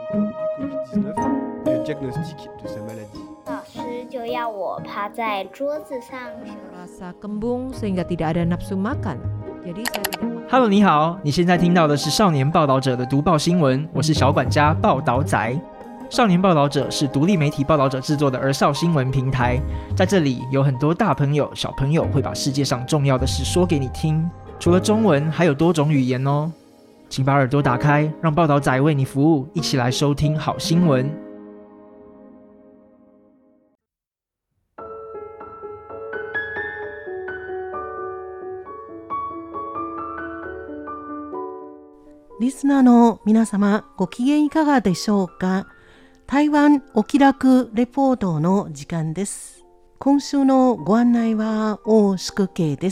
du Covid-19 et le diagnostic de sa maladie. 老師就要我趴在桌子上。 Rasa kembung sehingga tidak ada nafsu makan. Jadi saya tidak. Hello， 你好，你现在听到的是少年报道者的读報新聞，我是小管家報道仔。少年報道者是獨立媒體報道者製作的兒少新聞平台，在這裡有很多大朋友、小朋友會把世界上重要的事說給你聽，除了中文，還有多種語言哦。請把耳朵打開，讓報道仔為你服務，一起來收聽好新聞。 リスナーの皆様、ご機嫌いかがでしょうか。台湾お気楽レポートの時間です。今週のご案内は大宿慶です。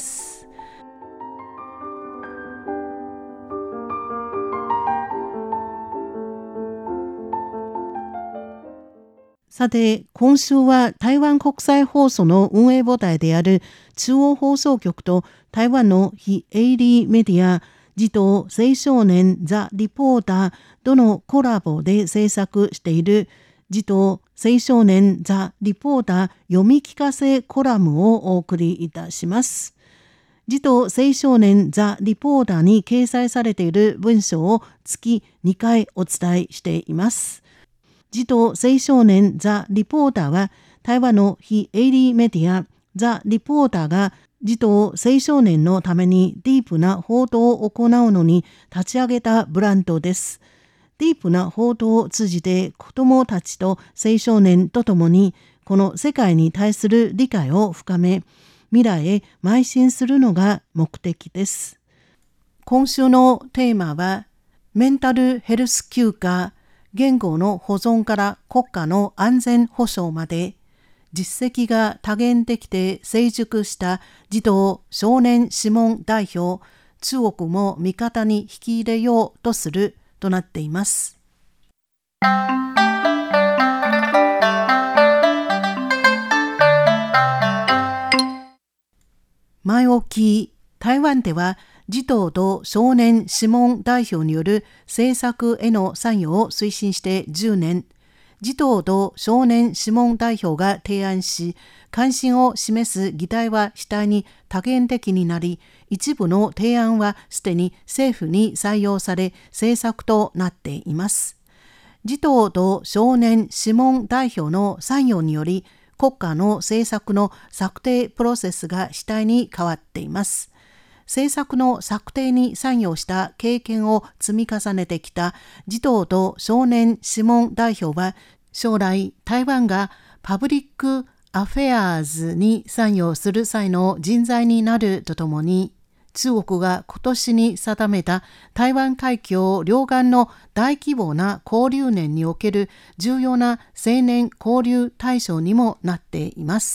さて、今週は台湾国際放送の運営母体である中央放送局と台湾の非営利メディア児童青少年ザ・リポーターとのコラボで制作している児童青少年ザ・リポーター読み聞かせコラムをお送りいたします。児童青少年ザ・リポーターに掲載されている文章を月2回お伝えしています。児童青少年ザ・リポーターは台湾の非営利メディアザ・リポーターが児童青少年のためにディープな報道を行うのに立ち上げたブランドです。ディープな報道を通じて子どもたちと青少年とともにこの世界に対する理解を深め、未来へ邁進するのが目的です。今週のテーマはメンタルヘルス休暇、言語の保存から国家の安全保障まで、実績が多元的で成熟した児童少年諮問代表、中国も味方に引き入れようとするとなっています。前置き、台湾では児童と少年諮問代表による政策への参与を推進して10年、児童と少年諮問代表が提案し、関心を示す議題は次第に多元的になり、一部の提案はすでに政府に採用され、政策となっています。児童と少年諮問代表の参与により、国家の政策の策定プロセスが次第に変わっています。政策の策定に参与した経験を積み重ねてきた児童と少年諮問代表は、将来台湾がパブリックアフェアーズに参与する際の人材になるとともに、中国が今年に定めた台湾海峡両岸の大規模な交流年における重要な青年交流対象にもなっています。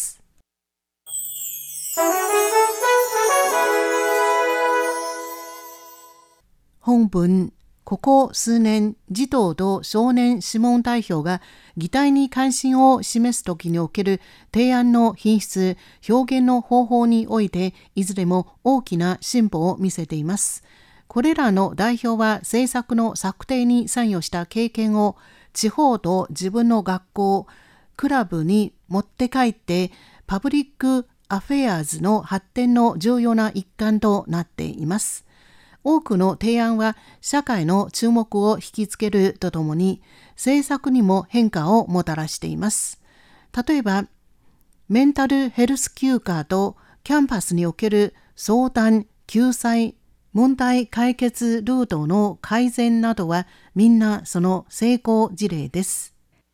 本文、ここ数年、児童と少年諮問代表が議題に関心を示すときにおける提案の品質、表現の方法において、いずれも大きな進歩を見せています。これらの代表は政策の策定に参与した経験を地方と自分の学校、クラブに持って帰って、パブリックアフェアーズの発展の重要な一環となっています。多くの提案は社会の注目を引きつけるとともに政策にも変化をもたらしています。例えば、メンタルヘルス休暇とキャンパスにおける相談、救済、問題解決ルートの改善などはみんなその成功事例です。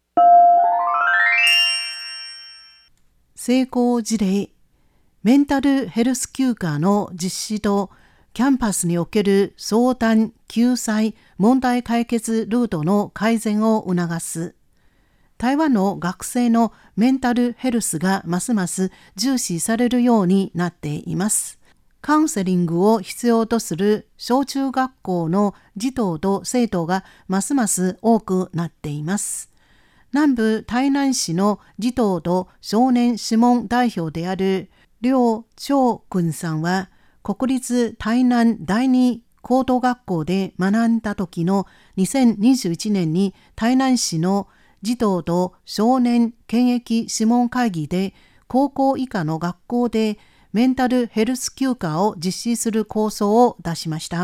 成功事例、メンタルヘルス休暇の実施とキャンパスにおける相談、救済、問題解決ルートの改善を促す。台湾の学生のメンタルヘルスがますます重視されるようになっています。カウンセリングを必要とする小中学校の児童と生徒がますます多くなっています。南部台南市の児童と少年諮問代表である廖長君さんは、国立台南第二高等学校で学んだ時の2021年に台南市の児童と少年検疫諮問会議で高校以下の学校でメンタルヘルス休暇を実施する構想を出しました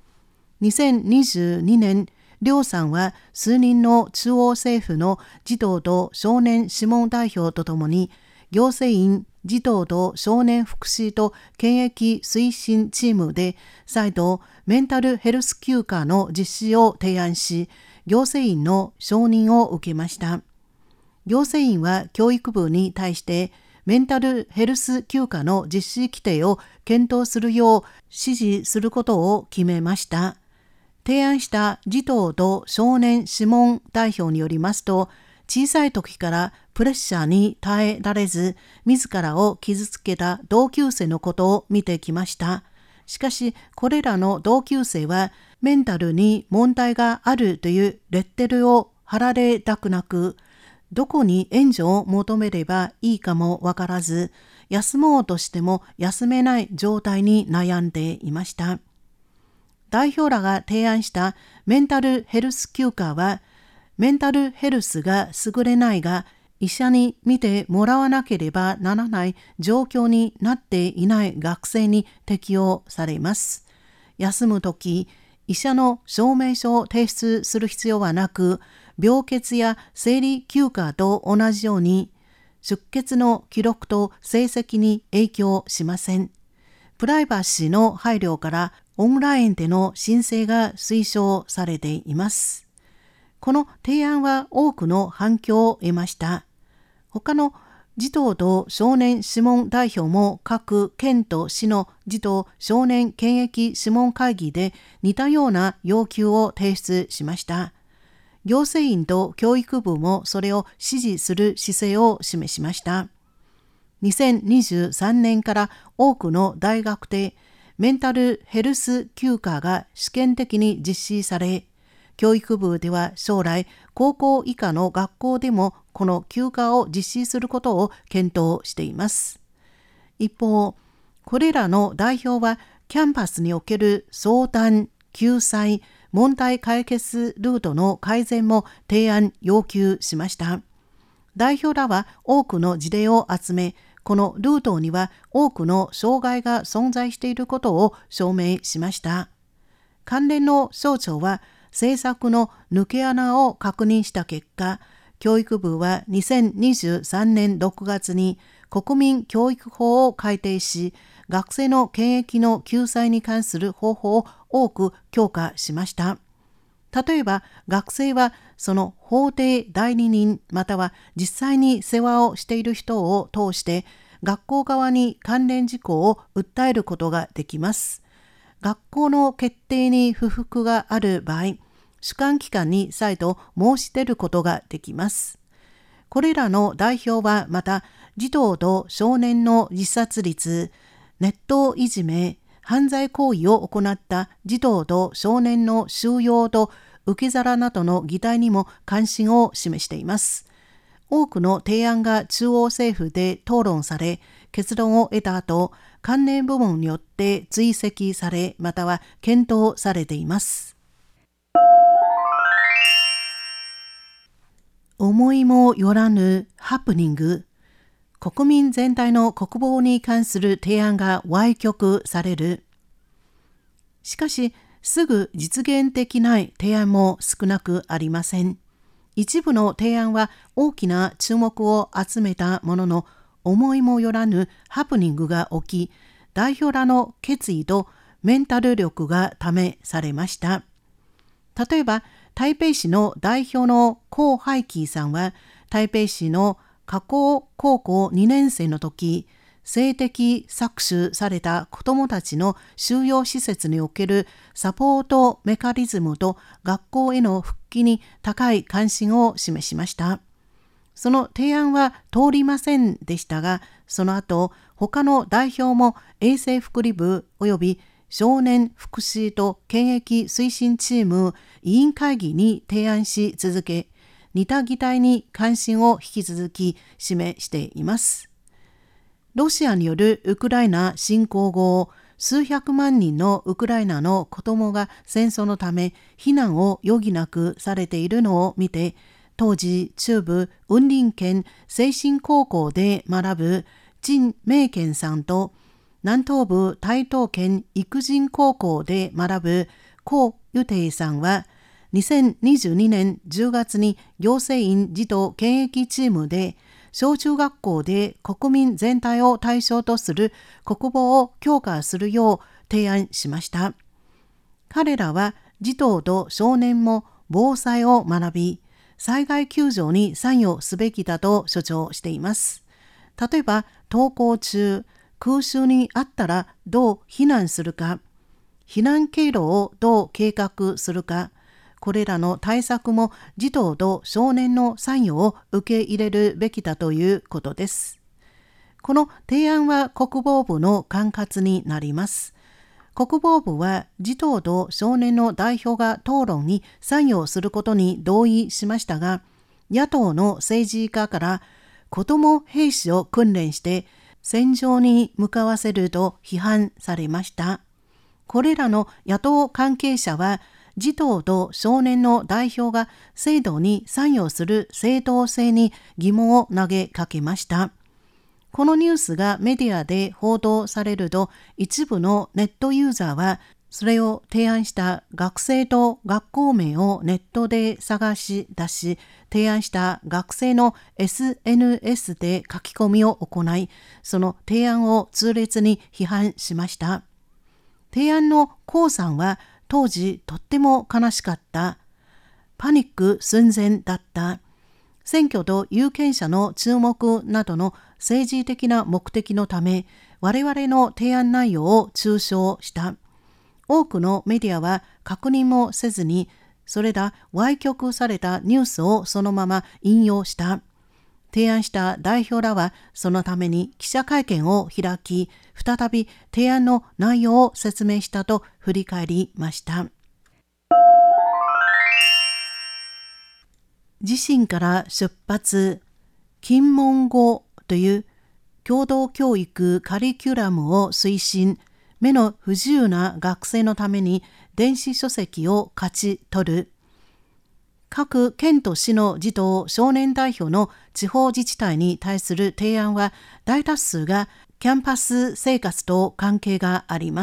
。2022年、両さんは数人の中央政府の児童と少年諮問代表とともに、行政院児童と少年福祉と検疫推進チームで再度メンタルヘルス休暇の実施を提案し、行政院の承認を受けました。行政院は教育部に対してメンタルヘルス休暇の実施規定を検討するよう指示することを決めました。提案した児童と少年諮問代表によりますと、小さい時からプレッシャーに耐えられず、自らを傷つけた同級生のことを見てきました。しかし、これらの同級生は、メンタルに問題があるというレッテルを貼られたくなく、どこに援助を求めればいいかもわからず、休もうとしても休めない状態に悩んでいました。代表らが提案したメンタルヘルス休暇は、メンタルヘルスが優れないが、医者に見てもらわなければならない状況になっていない学生に適用されます。休むとき、医者の証明書を提出する必要はなく、病欠や生理休暇と同じように、出欠の記録と成績に影響しません。プライバシーの配慮からオンラインでの申請が推奨されています。この提案は多くの反響を得ました。他の児童と少年諮問代表も各県と市の児童少年検疫諮問会議で似たような要求を提出しました。行政院と教育部もそれを支持する姿勢を示しました。2023年から多くの大学でメンタルヘルス休暇が試験的に実施され、教育部では将来高校以下の学校でもこの休暇を実施することを検討しています。一方、これらの代表はキャンパスにおける相談、救済、問題解決ルートの改善も提案要求しました。代表らは多くの事例を集め、このルートには多くの障害が存在していることを証明しました。関連の省庁は政策の抜け穴を確認した結果、教育部は2023年6月に国民教育法を改定し、学生の検疫の救済に関する方法を多く強化しました。例えば、学生はその法定代理人または実際に世話をしている人を通して学校側に関連事項を訴えることができます。学校の決定に不服がある場合、主管機関に再度申し出ることができます。これらの代表はまた、児童と少年の自殺率、ネットいじめ、犯罪行為を行った児童と少年の収容と受け皿などの議題にも関心を示しています。多くの提案が中央政府で討論され、結論を得た後、関連部門によって追跡され、または検討されています。思いもよらぬハプニング。国民全体の国防に関する提案が歪曲される。しかし、すぐ実現できない提案も少なくありません。一部の提案は大きな注目を集めたものの、思いもよらぬハプニングが起き、代表らの決意とメンタル力が試されました。例えば、台北市の代表のコウ・ハイキーさんは、台北市の華高高校2年生の時、性的搾取された子どもたちの収容施設におけるサポートメカニズムと学校への復帰に高い関心を示しました。その提案は通りませんでしたが、その後、他の代表も衛生福利部及び少年福祉と検疫推進チーム委員会議に提案し続け、似た議題に関心を引き続き示しています。ロシアによるウクライナ侵攻後、 数百万人のウクライナの子供が戦争のため避難を余儀なくされているのを見て、当時中部雲林県清新高校で学ぶ陳明健さんと、南東部台東県育人高校で学ぶ高友定さんは、2022年10月に行政院児童検疫チームで小中学校で国民全体を対象とする国防を強化するよう提案しました。彼らは児童と少年も防災を学び、災害救助に参与すべきだと主張しています。例えば、登校中、空襲にあったらどう避難するか、避難経路をどう計画するか、これらの対策も児童と少年の参与を受け入れるべきだということです。この提案は国防部の管轄になります。国防部は児童と少年の代表が討論に参与することに同意しましたが、野党の政治家から子ども兵士を訓練して戦場に向かわせると批判されました。これらの野党関係者は、児童と少年の代表が制度に参与する正当性に疑問を投げかけました。このニュースがメディアで報道されると、一部のネットユーザーはそれを提案した学生と学校名をネットで探し出し、提案した学生の SNS で書き込みを行い、その提案を痛烈に批判しました。提案のコウさんは、当時とっても悲しかった。パニック寸前だった。選挙と有権者の注目などの政治的な目的のため、我々の提案内容を中傷した。多くのメディアは確認もせずに、それら歪曲されたニュースをそのまま引用した。提案した代表らはそのために記者会見を開き、再び提案の内容を説明したと振り返りました。自身から出発、金門語という共同教育カリキュラムを推進、目の不自由な学生のために電子書籍を勝ち取る。各県と市の児童少年代表の地方自治体に対する提案は、大多数がキャンパス生活と関係があります。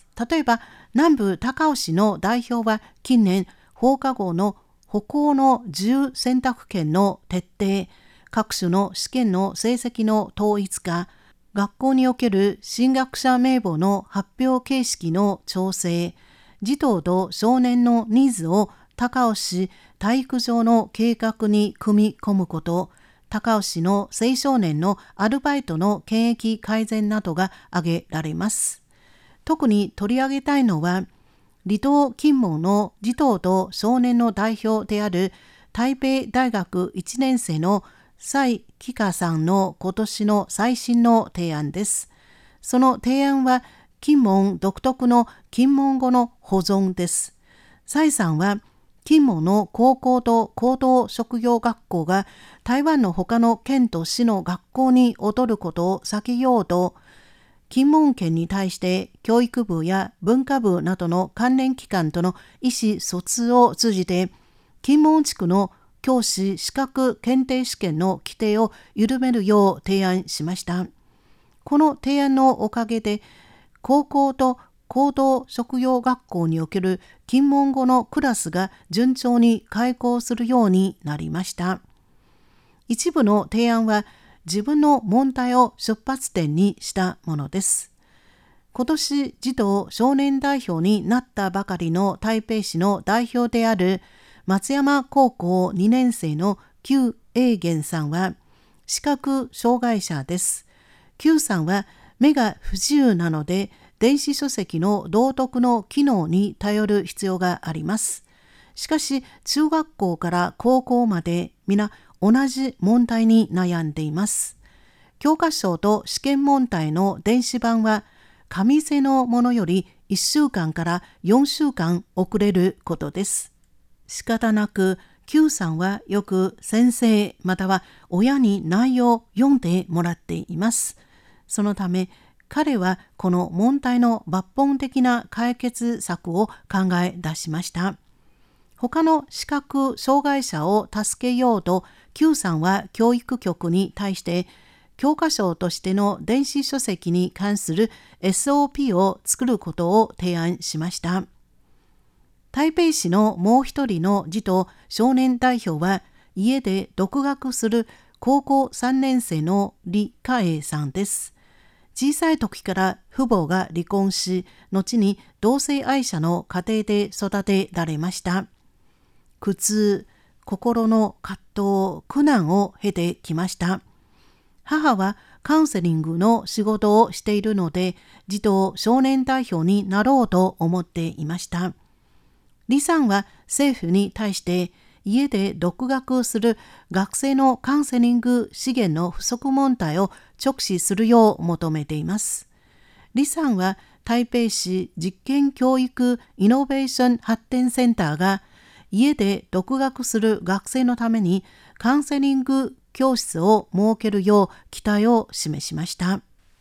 例えば、南部高雄市の代表は近年、放課後の歩行の自由選択権の徹底、各種の試験の成績の統一化、学校における進学者名簿の発表形式の調整、児童と少年のニーズを高雄市体育場の計画に組み込むこと、高雄市の青少年のアルバイトの権益改善などが挙げられます。特に取り上げたいのは、離島金門の児童と少年の代表である台北大学1年生の蔡紀香さんの今年の最新の提案です。その提案は、金門独特の金門語の保存です。蔡さんは、金門の高校と高等職業学校が台湾の他の県と市の学校に劣ることを避けようと、金門県に対して教育部や文化部などの関連機関との意思疎通を通じて、金門地区の教師資格検定試験の規定を緩めるよう提案しました。この提案のおかげで、高校と高等職業学校における金門語のクラスが順調に開講するようになりました。一部の提案は自分の問題を出発点にしたものです。今年児童少年代表になったばかりの台北市の代表である松山高校2年生の邱英元さんは視覚障害者です。邱さんは目が不自由なので、電子書籍の道読の機能に頼る必要があります。しかし、中学校から高校まで皆同じ問題に悩んでいます。教科書と試験問題の電子版は、紙製のものより1週間から4週間遅れることです。仕方なく、邱さんはよく先生または親に内容を読んでもらっています。そのため、 彼はこの問題の抜本的な解決策を考え出しました。他の視覚障害者を助けようと Q さんは教育局に対して教科書としての電子書籍に関する SOP を作ることを提案しました。台北市のもう一人の児童少年代表は家で独学する高校3年生の李嘉英さんです。小さい時から父母が離婚し、後に同性愛者の家庭で育てられました。苦痛、心の葛藤、苦難を経てきました。母はカウンセリングの仕事をしているので、児童少年代表になろうと思っていました。李さんは政府に対して家で独学する学生のカウンセリング資源の不足問題を直視するよう求めています。李さんは台北市実験教育イノベーション発展センターが家で独学する学生のためにカウンセリング教室を設けるよう期待を示しました。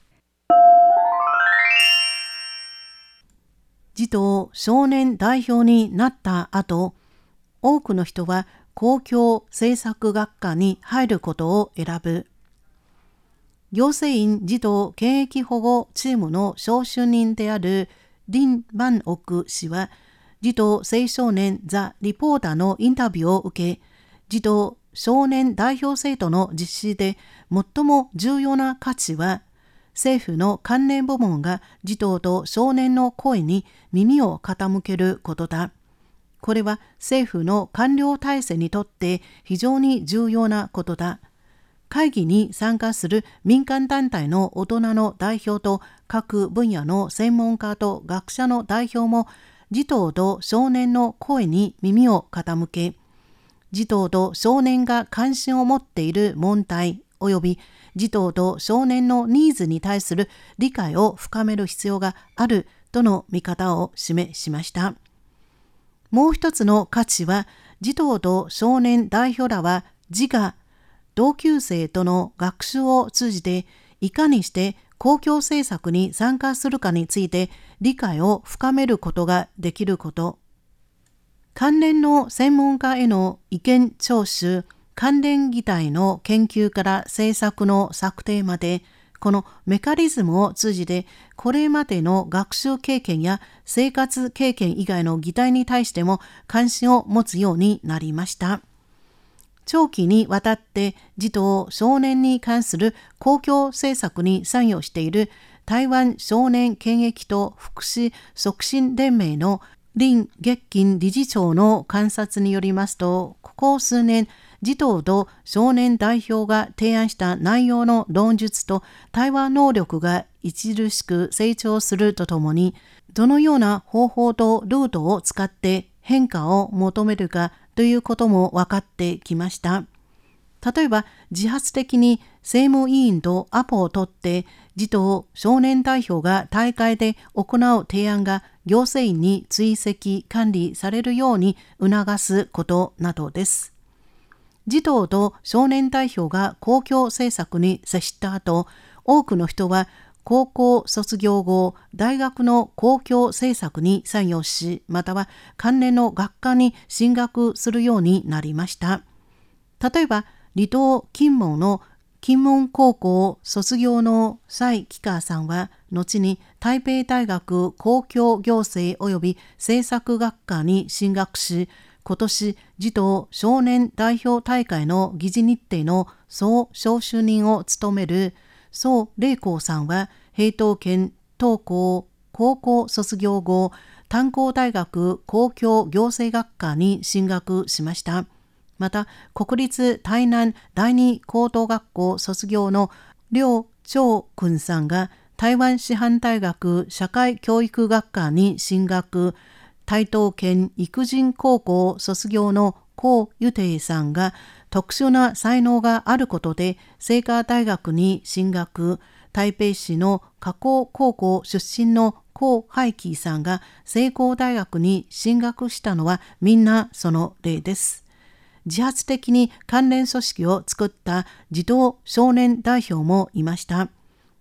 児童少年代表になった後、多くの人は公共政策学科に入ることを選ぶ。行政院児童権益保護チームの招集人である林万億氏は、児童青少年ザ・リポーターのインタビューを受け、児童少年代表制度の実施で最も重要な価値は、政府の関連部門が児童と少年の声に耳を傾けることだ。これは政府の官僚体制にとって非常に重要なことだ。会議に参加する民間団体の大人の代表と各分野の専門家と学者の代表も児童と少年の声に耳を傾け、児童と少年が関心を持っている問題及び児童と少年のニーズに対する理解を深める必要があるとの見方を示しました。もう一つの価値は、児童と少年代表らは自我、同級生との学習を通じていかにして公共政策に参加するかについて理解を深めることができること。関連の専門家への意見聴取、関連議題の研究から政策の策定まで、このメカニズムを通じてこれまでの学習経験や生活経験以外の議題に対しても関心を持つようになりました。長期にわたって児童少年に関する公共政策に参与している台湾少年権益と福祉促進連盟の林月金理事長の観察によりますと、ここ数年児童と少年代表が提案した内容の論述と対話能力が著しく成長するとともに、どのような方法とルートを使って変化を求めるかということも分かってきました。例えば、自発的に政務委員とアポを取って児童少年代表が大会で行う提案が行政院に追跡管理されるように促すことなどです。児童と少年代表が公共政策に接した後、多くの人は高校卒業後、大学の公共政策に参与し、または関連の学科に進学するようになりました。例えば、離島金門の金門高校卒業の蔡紀香さんは、後に台北大学公共行政及び政策学科に進学し、今年、児童少年代表大会の議事日程の総招集人を務める宋麗光さんは、平等県東高高校卒業後、炭鉱大学公共行政学科に進学しました。また、国立台南第二高等学校卒業の廖長君さんが、台湾師範大学社会教育学科に進学、台東県育人高校卒業の高ゆていさんが特殊な才能があることで清華大学に進学、台北市の華工高校出身の高海輝さんが成功大学に進学したのはみんなその例です。自発的に関連組織を作った児童少年代表もいました。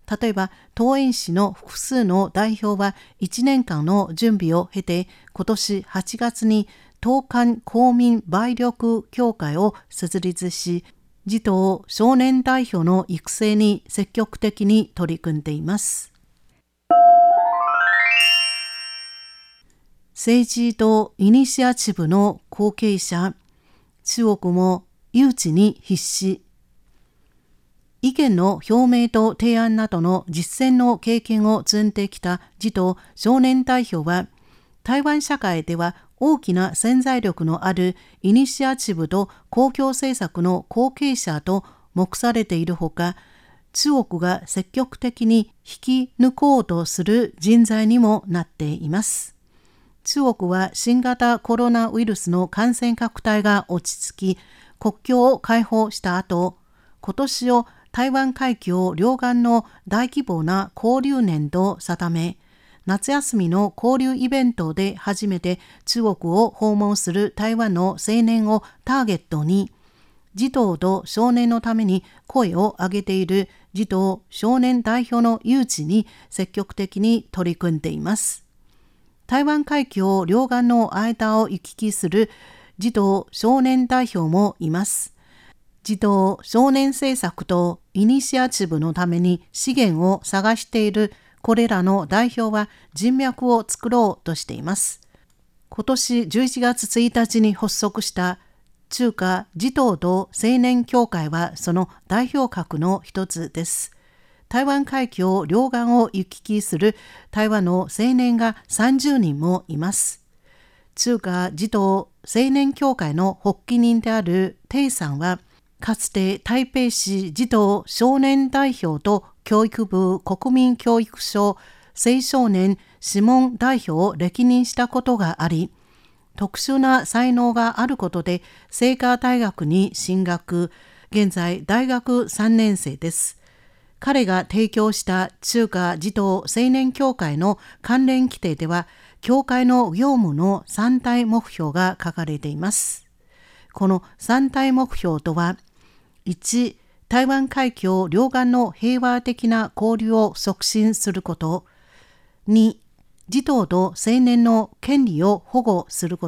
例えば桃園市の複数の代表は1年間の準備を経て、今年8月に東韓公民売力協会を設立し、児童少年代表の育成に積極的に取り組んでいます。政治とイニシアチブの後継者、中国も誘致に必死。意見の表明と提案などの実践の経験を積んできた児童少年代表は、台湾社会では大きな潜在力のあるイニシアチブと公共政策の後継者と目されているほか、中国が積極的に引き抜こうとする人材にもなっています。中国は新型コロナウイルスの感染拡大が落ち着き、国境を開放した後、今年を台湾海峡両岸の大規模な交流年と定め、夏休みの交流イベントで初めて中国を訪問する台湾の青年をターゲットに、児童と少年のために声を上げている児童少年代表の誘致に積極的に取り組んでいます。台湾海峡両岸の間を行き来する児童少年代表もいます。児童少年政策とイニシアチブのために資源を探しているこれらの代表は人脈を作ろうとしています。今年11月1日に発足した中華児童と青年協会はその代表格の一つです。台湾海峡両岸を行き来する台湾の青年が30人もいます。中華児童青年協会の発起人である鄭さんは、かつて台北市児童少年代表と教育部国民教育省青少年諮問代表を歴任したことがあり、特殊な才能があることで清華大学に進学、現在大学3年生です。彼が提供した中華児童青年協会の関連規定では、協会の業務の3大目標が書かれています。この3大目標とは、1、台湾海峡両岸の平和的な交流を促進すること。2、児童と青年の権利を保護すること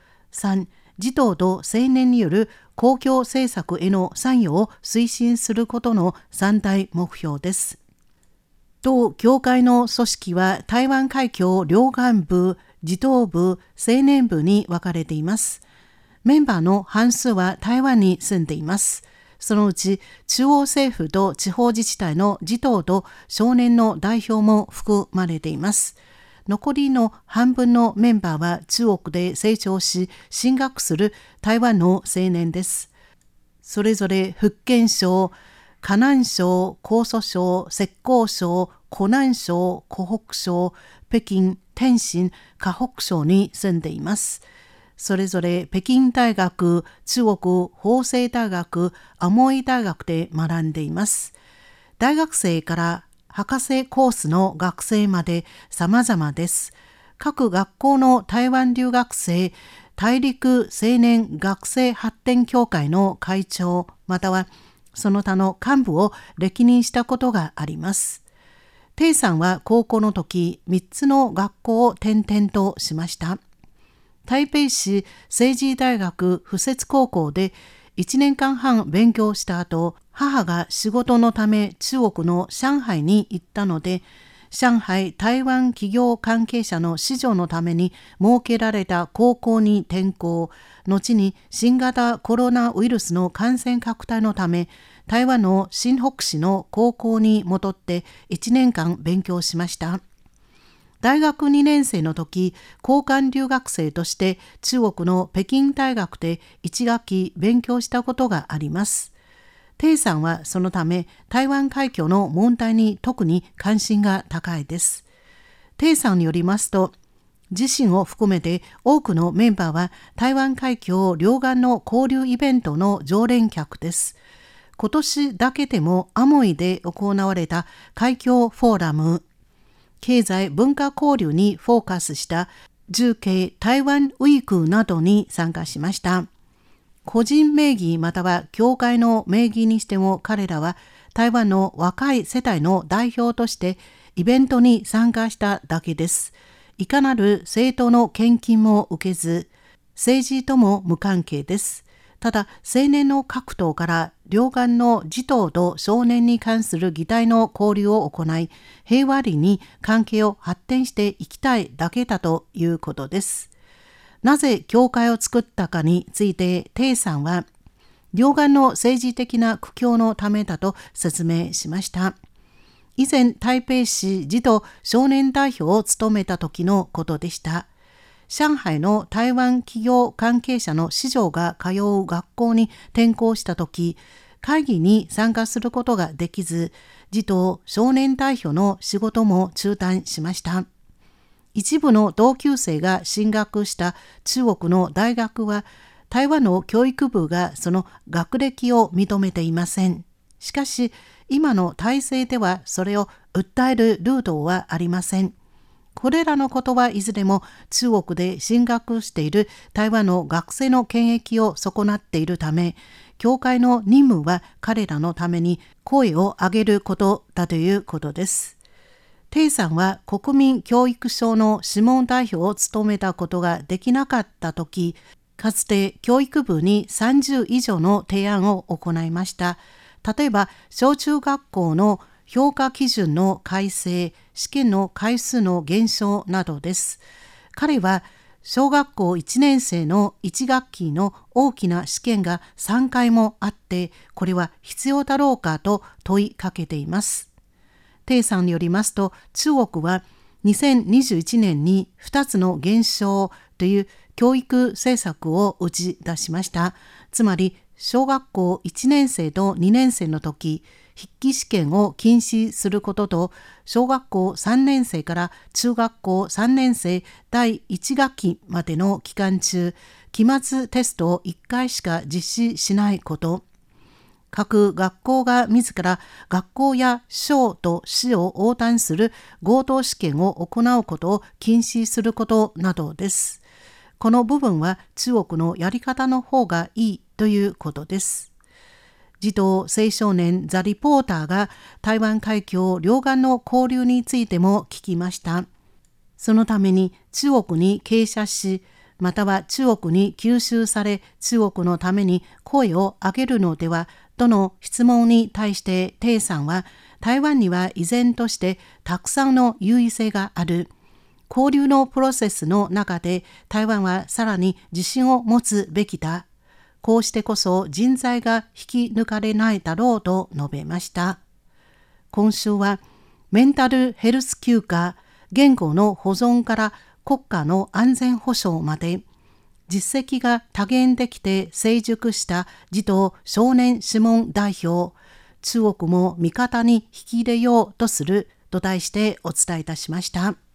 。3、児童と青年による公共政策への参与を推進することの3大目標です。同協会の組織は台湾海峡両岸部、児童部、青年部に分かれています。メンバーの半数は台湾に住んでいます。そのうち中央政府と地方自治体の児童と少年の代表も含まれています。残りの半分のメンバーは中国で成長し進学する台湾の青年です。それぞれ福建省、河南省、江蘇省、浙江省、湖南省、湖北省、北京、天津、河北省に住んでいます。それぞれ北京大学、中国法政大学、アモイ大学で学んでいます。大学生から博士コースの学生まで様々です。各学校の台湾留学生、大陸青年学生発展協会の会長、またはその他の幹部を歴任したことがあります。鄭さんは高校の時、3つの学校を転々としました。台北市政治大学附設高校で1年間半勉強した後、母が仕事のため中国の上海に行ったので、上海台湾企業関係者の子女のために設けられた高校に転校、後に新型コロナウイルスの感染拡大のため、台湾の新北市の高校に戻って1年間勉強しました。大学2年生の時、交換留学生として中国の北京大学で1学期勉強したことがあります。鄭さんはそのため台湾海峡の問題に特に関心が高いです。鄭さんによりますと、自身を含めて多くのメンバーは台湾海峡両岸の交流イベントの常連客です。今年だけでもアモイで行われた海峡フォーラム、経済文化交流にフォーカスした重慶台湾ウィークなどに参加しました。個人名義または協会の名義にしても彼らは台湾の若い世代の代表としてイベントに参加しただけです。いかなる政党の献金も受けず、政治とも無関係です。ただ、青年の各党から両岸の児童と少年に関する議題の交流を行い、平和裏に関係を発展していきたいだけだということです。なぜ教会を作ったかについて、鄭さんは、両岸の政治的な苦境のためだと説明しました。以前、台北市児童少年代表を務めた時のことでした。上海の台湾企業関係者の子女が通う学校に転校したとき、会議に参加することができず、児童少年代表の仕事も中断しました。一部の同級生が進学した中国の大学は、台湾の教育部がその学歴を認めていません。しかし、今の体制ではそれを訴えるルートはありません。これらのことはいずれも中国で進学している台湾の学生の権益を損なっているため、教会の任務は彼らのために声を上げることだということです。鄭さんは国民教育省の諮問代表を務めたことができなかったとき、かつて教育部に30以上の提案を行いました。例えば、小中学校の評価基準の改正、試験の回数の減少などです。彼は小学校1年生の1学期の大きな試験が3回もあって、これは必要だろうかと問いかけています。鄭さんによりますと、中国は2021年に2つの減少という教育政策を打ち出しました。つまり、小学校1年生と2年生の時、筆記試験を禁止することと、小学校3年生から中学校3年生第1学期までの期間中、期末テストを1回しか実施しないこと、各学校が自ら学校や省と市を横断する合同試験を行うことを禁止することなどです。この部分は中国のやり方の方がいいということです。児童青少年ザ・リポーターが台湾海峡両岸の交流についても聞きました。そのために中国に傾斜し、または中国に吸収され、中国のために声を上げるのではとの質問に対して鄭さんは、台湾には依然としてたくさんの優位性がある。交流のプロセスの中で台湾はさらに自信を持つべきだ。こうしてこそ人材が引き抜かれないだろうと述べました。今週はメンタルヘルス休暇、言語の保存から国家の安全保障まで、実績が多元できて成熟した児童少年諮問代表、中国も味方に引き入れようとすると題してお伝えいたしました。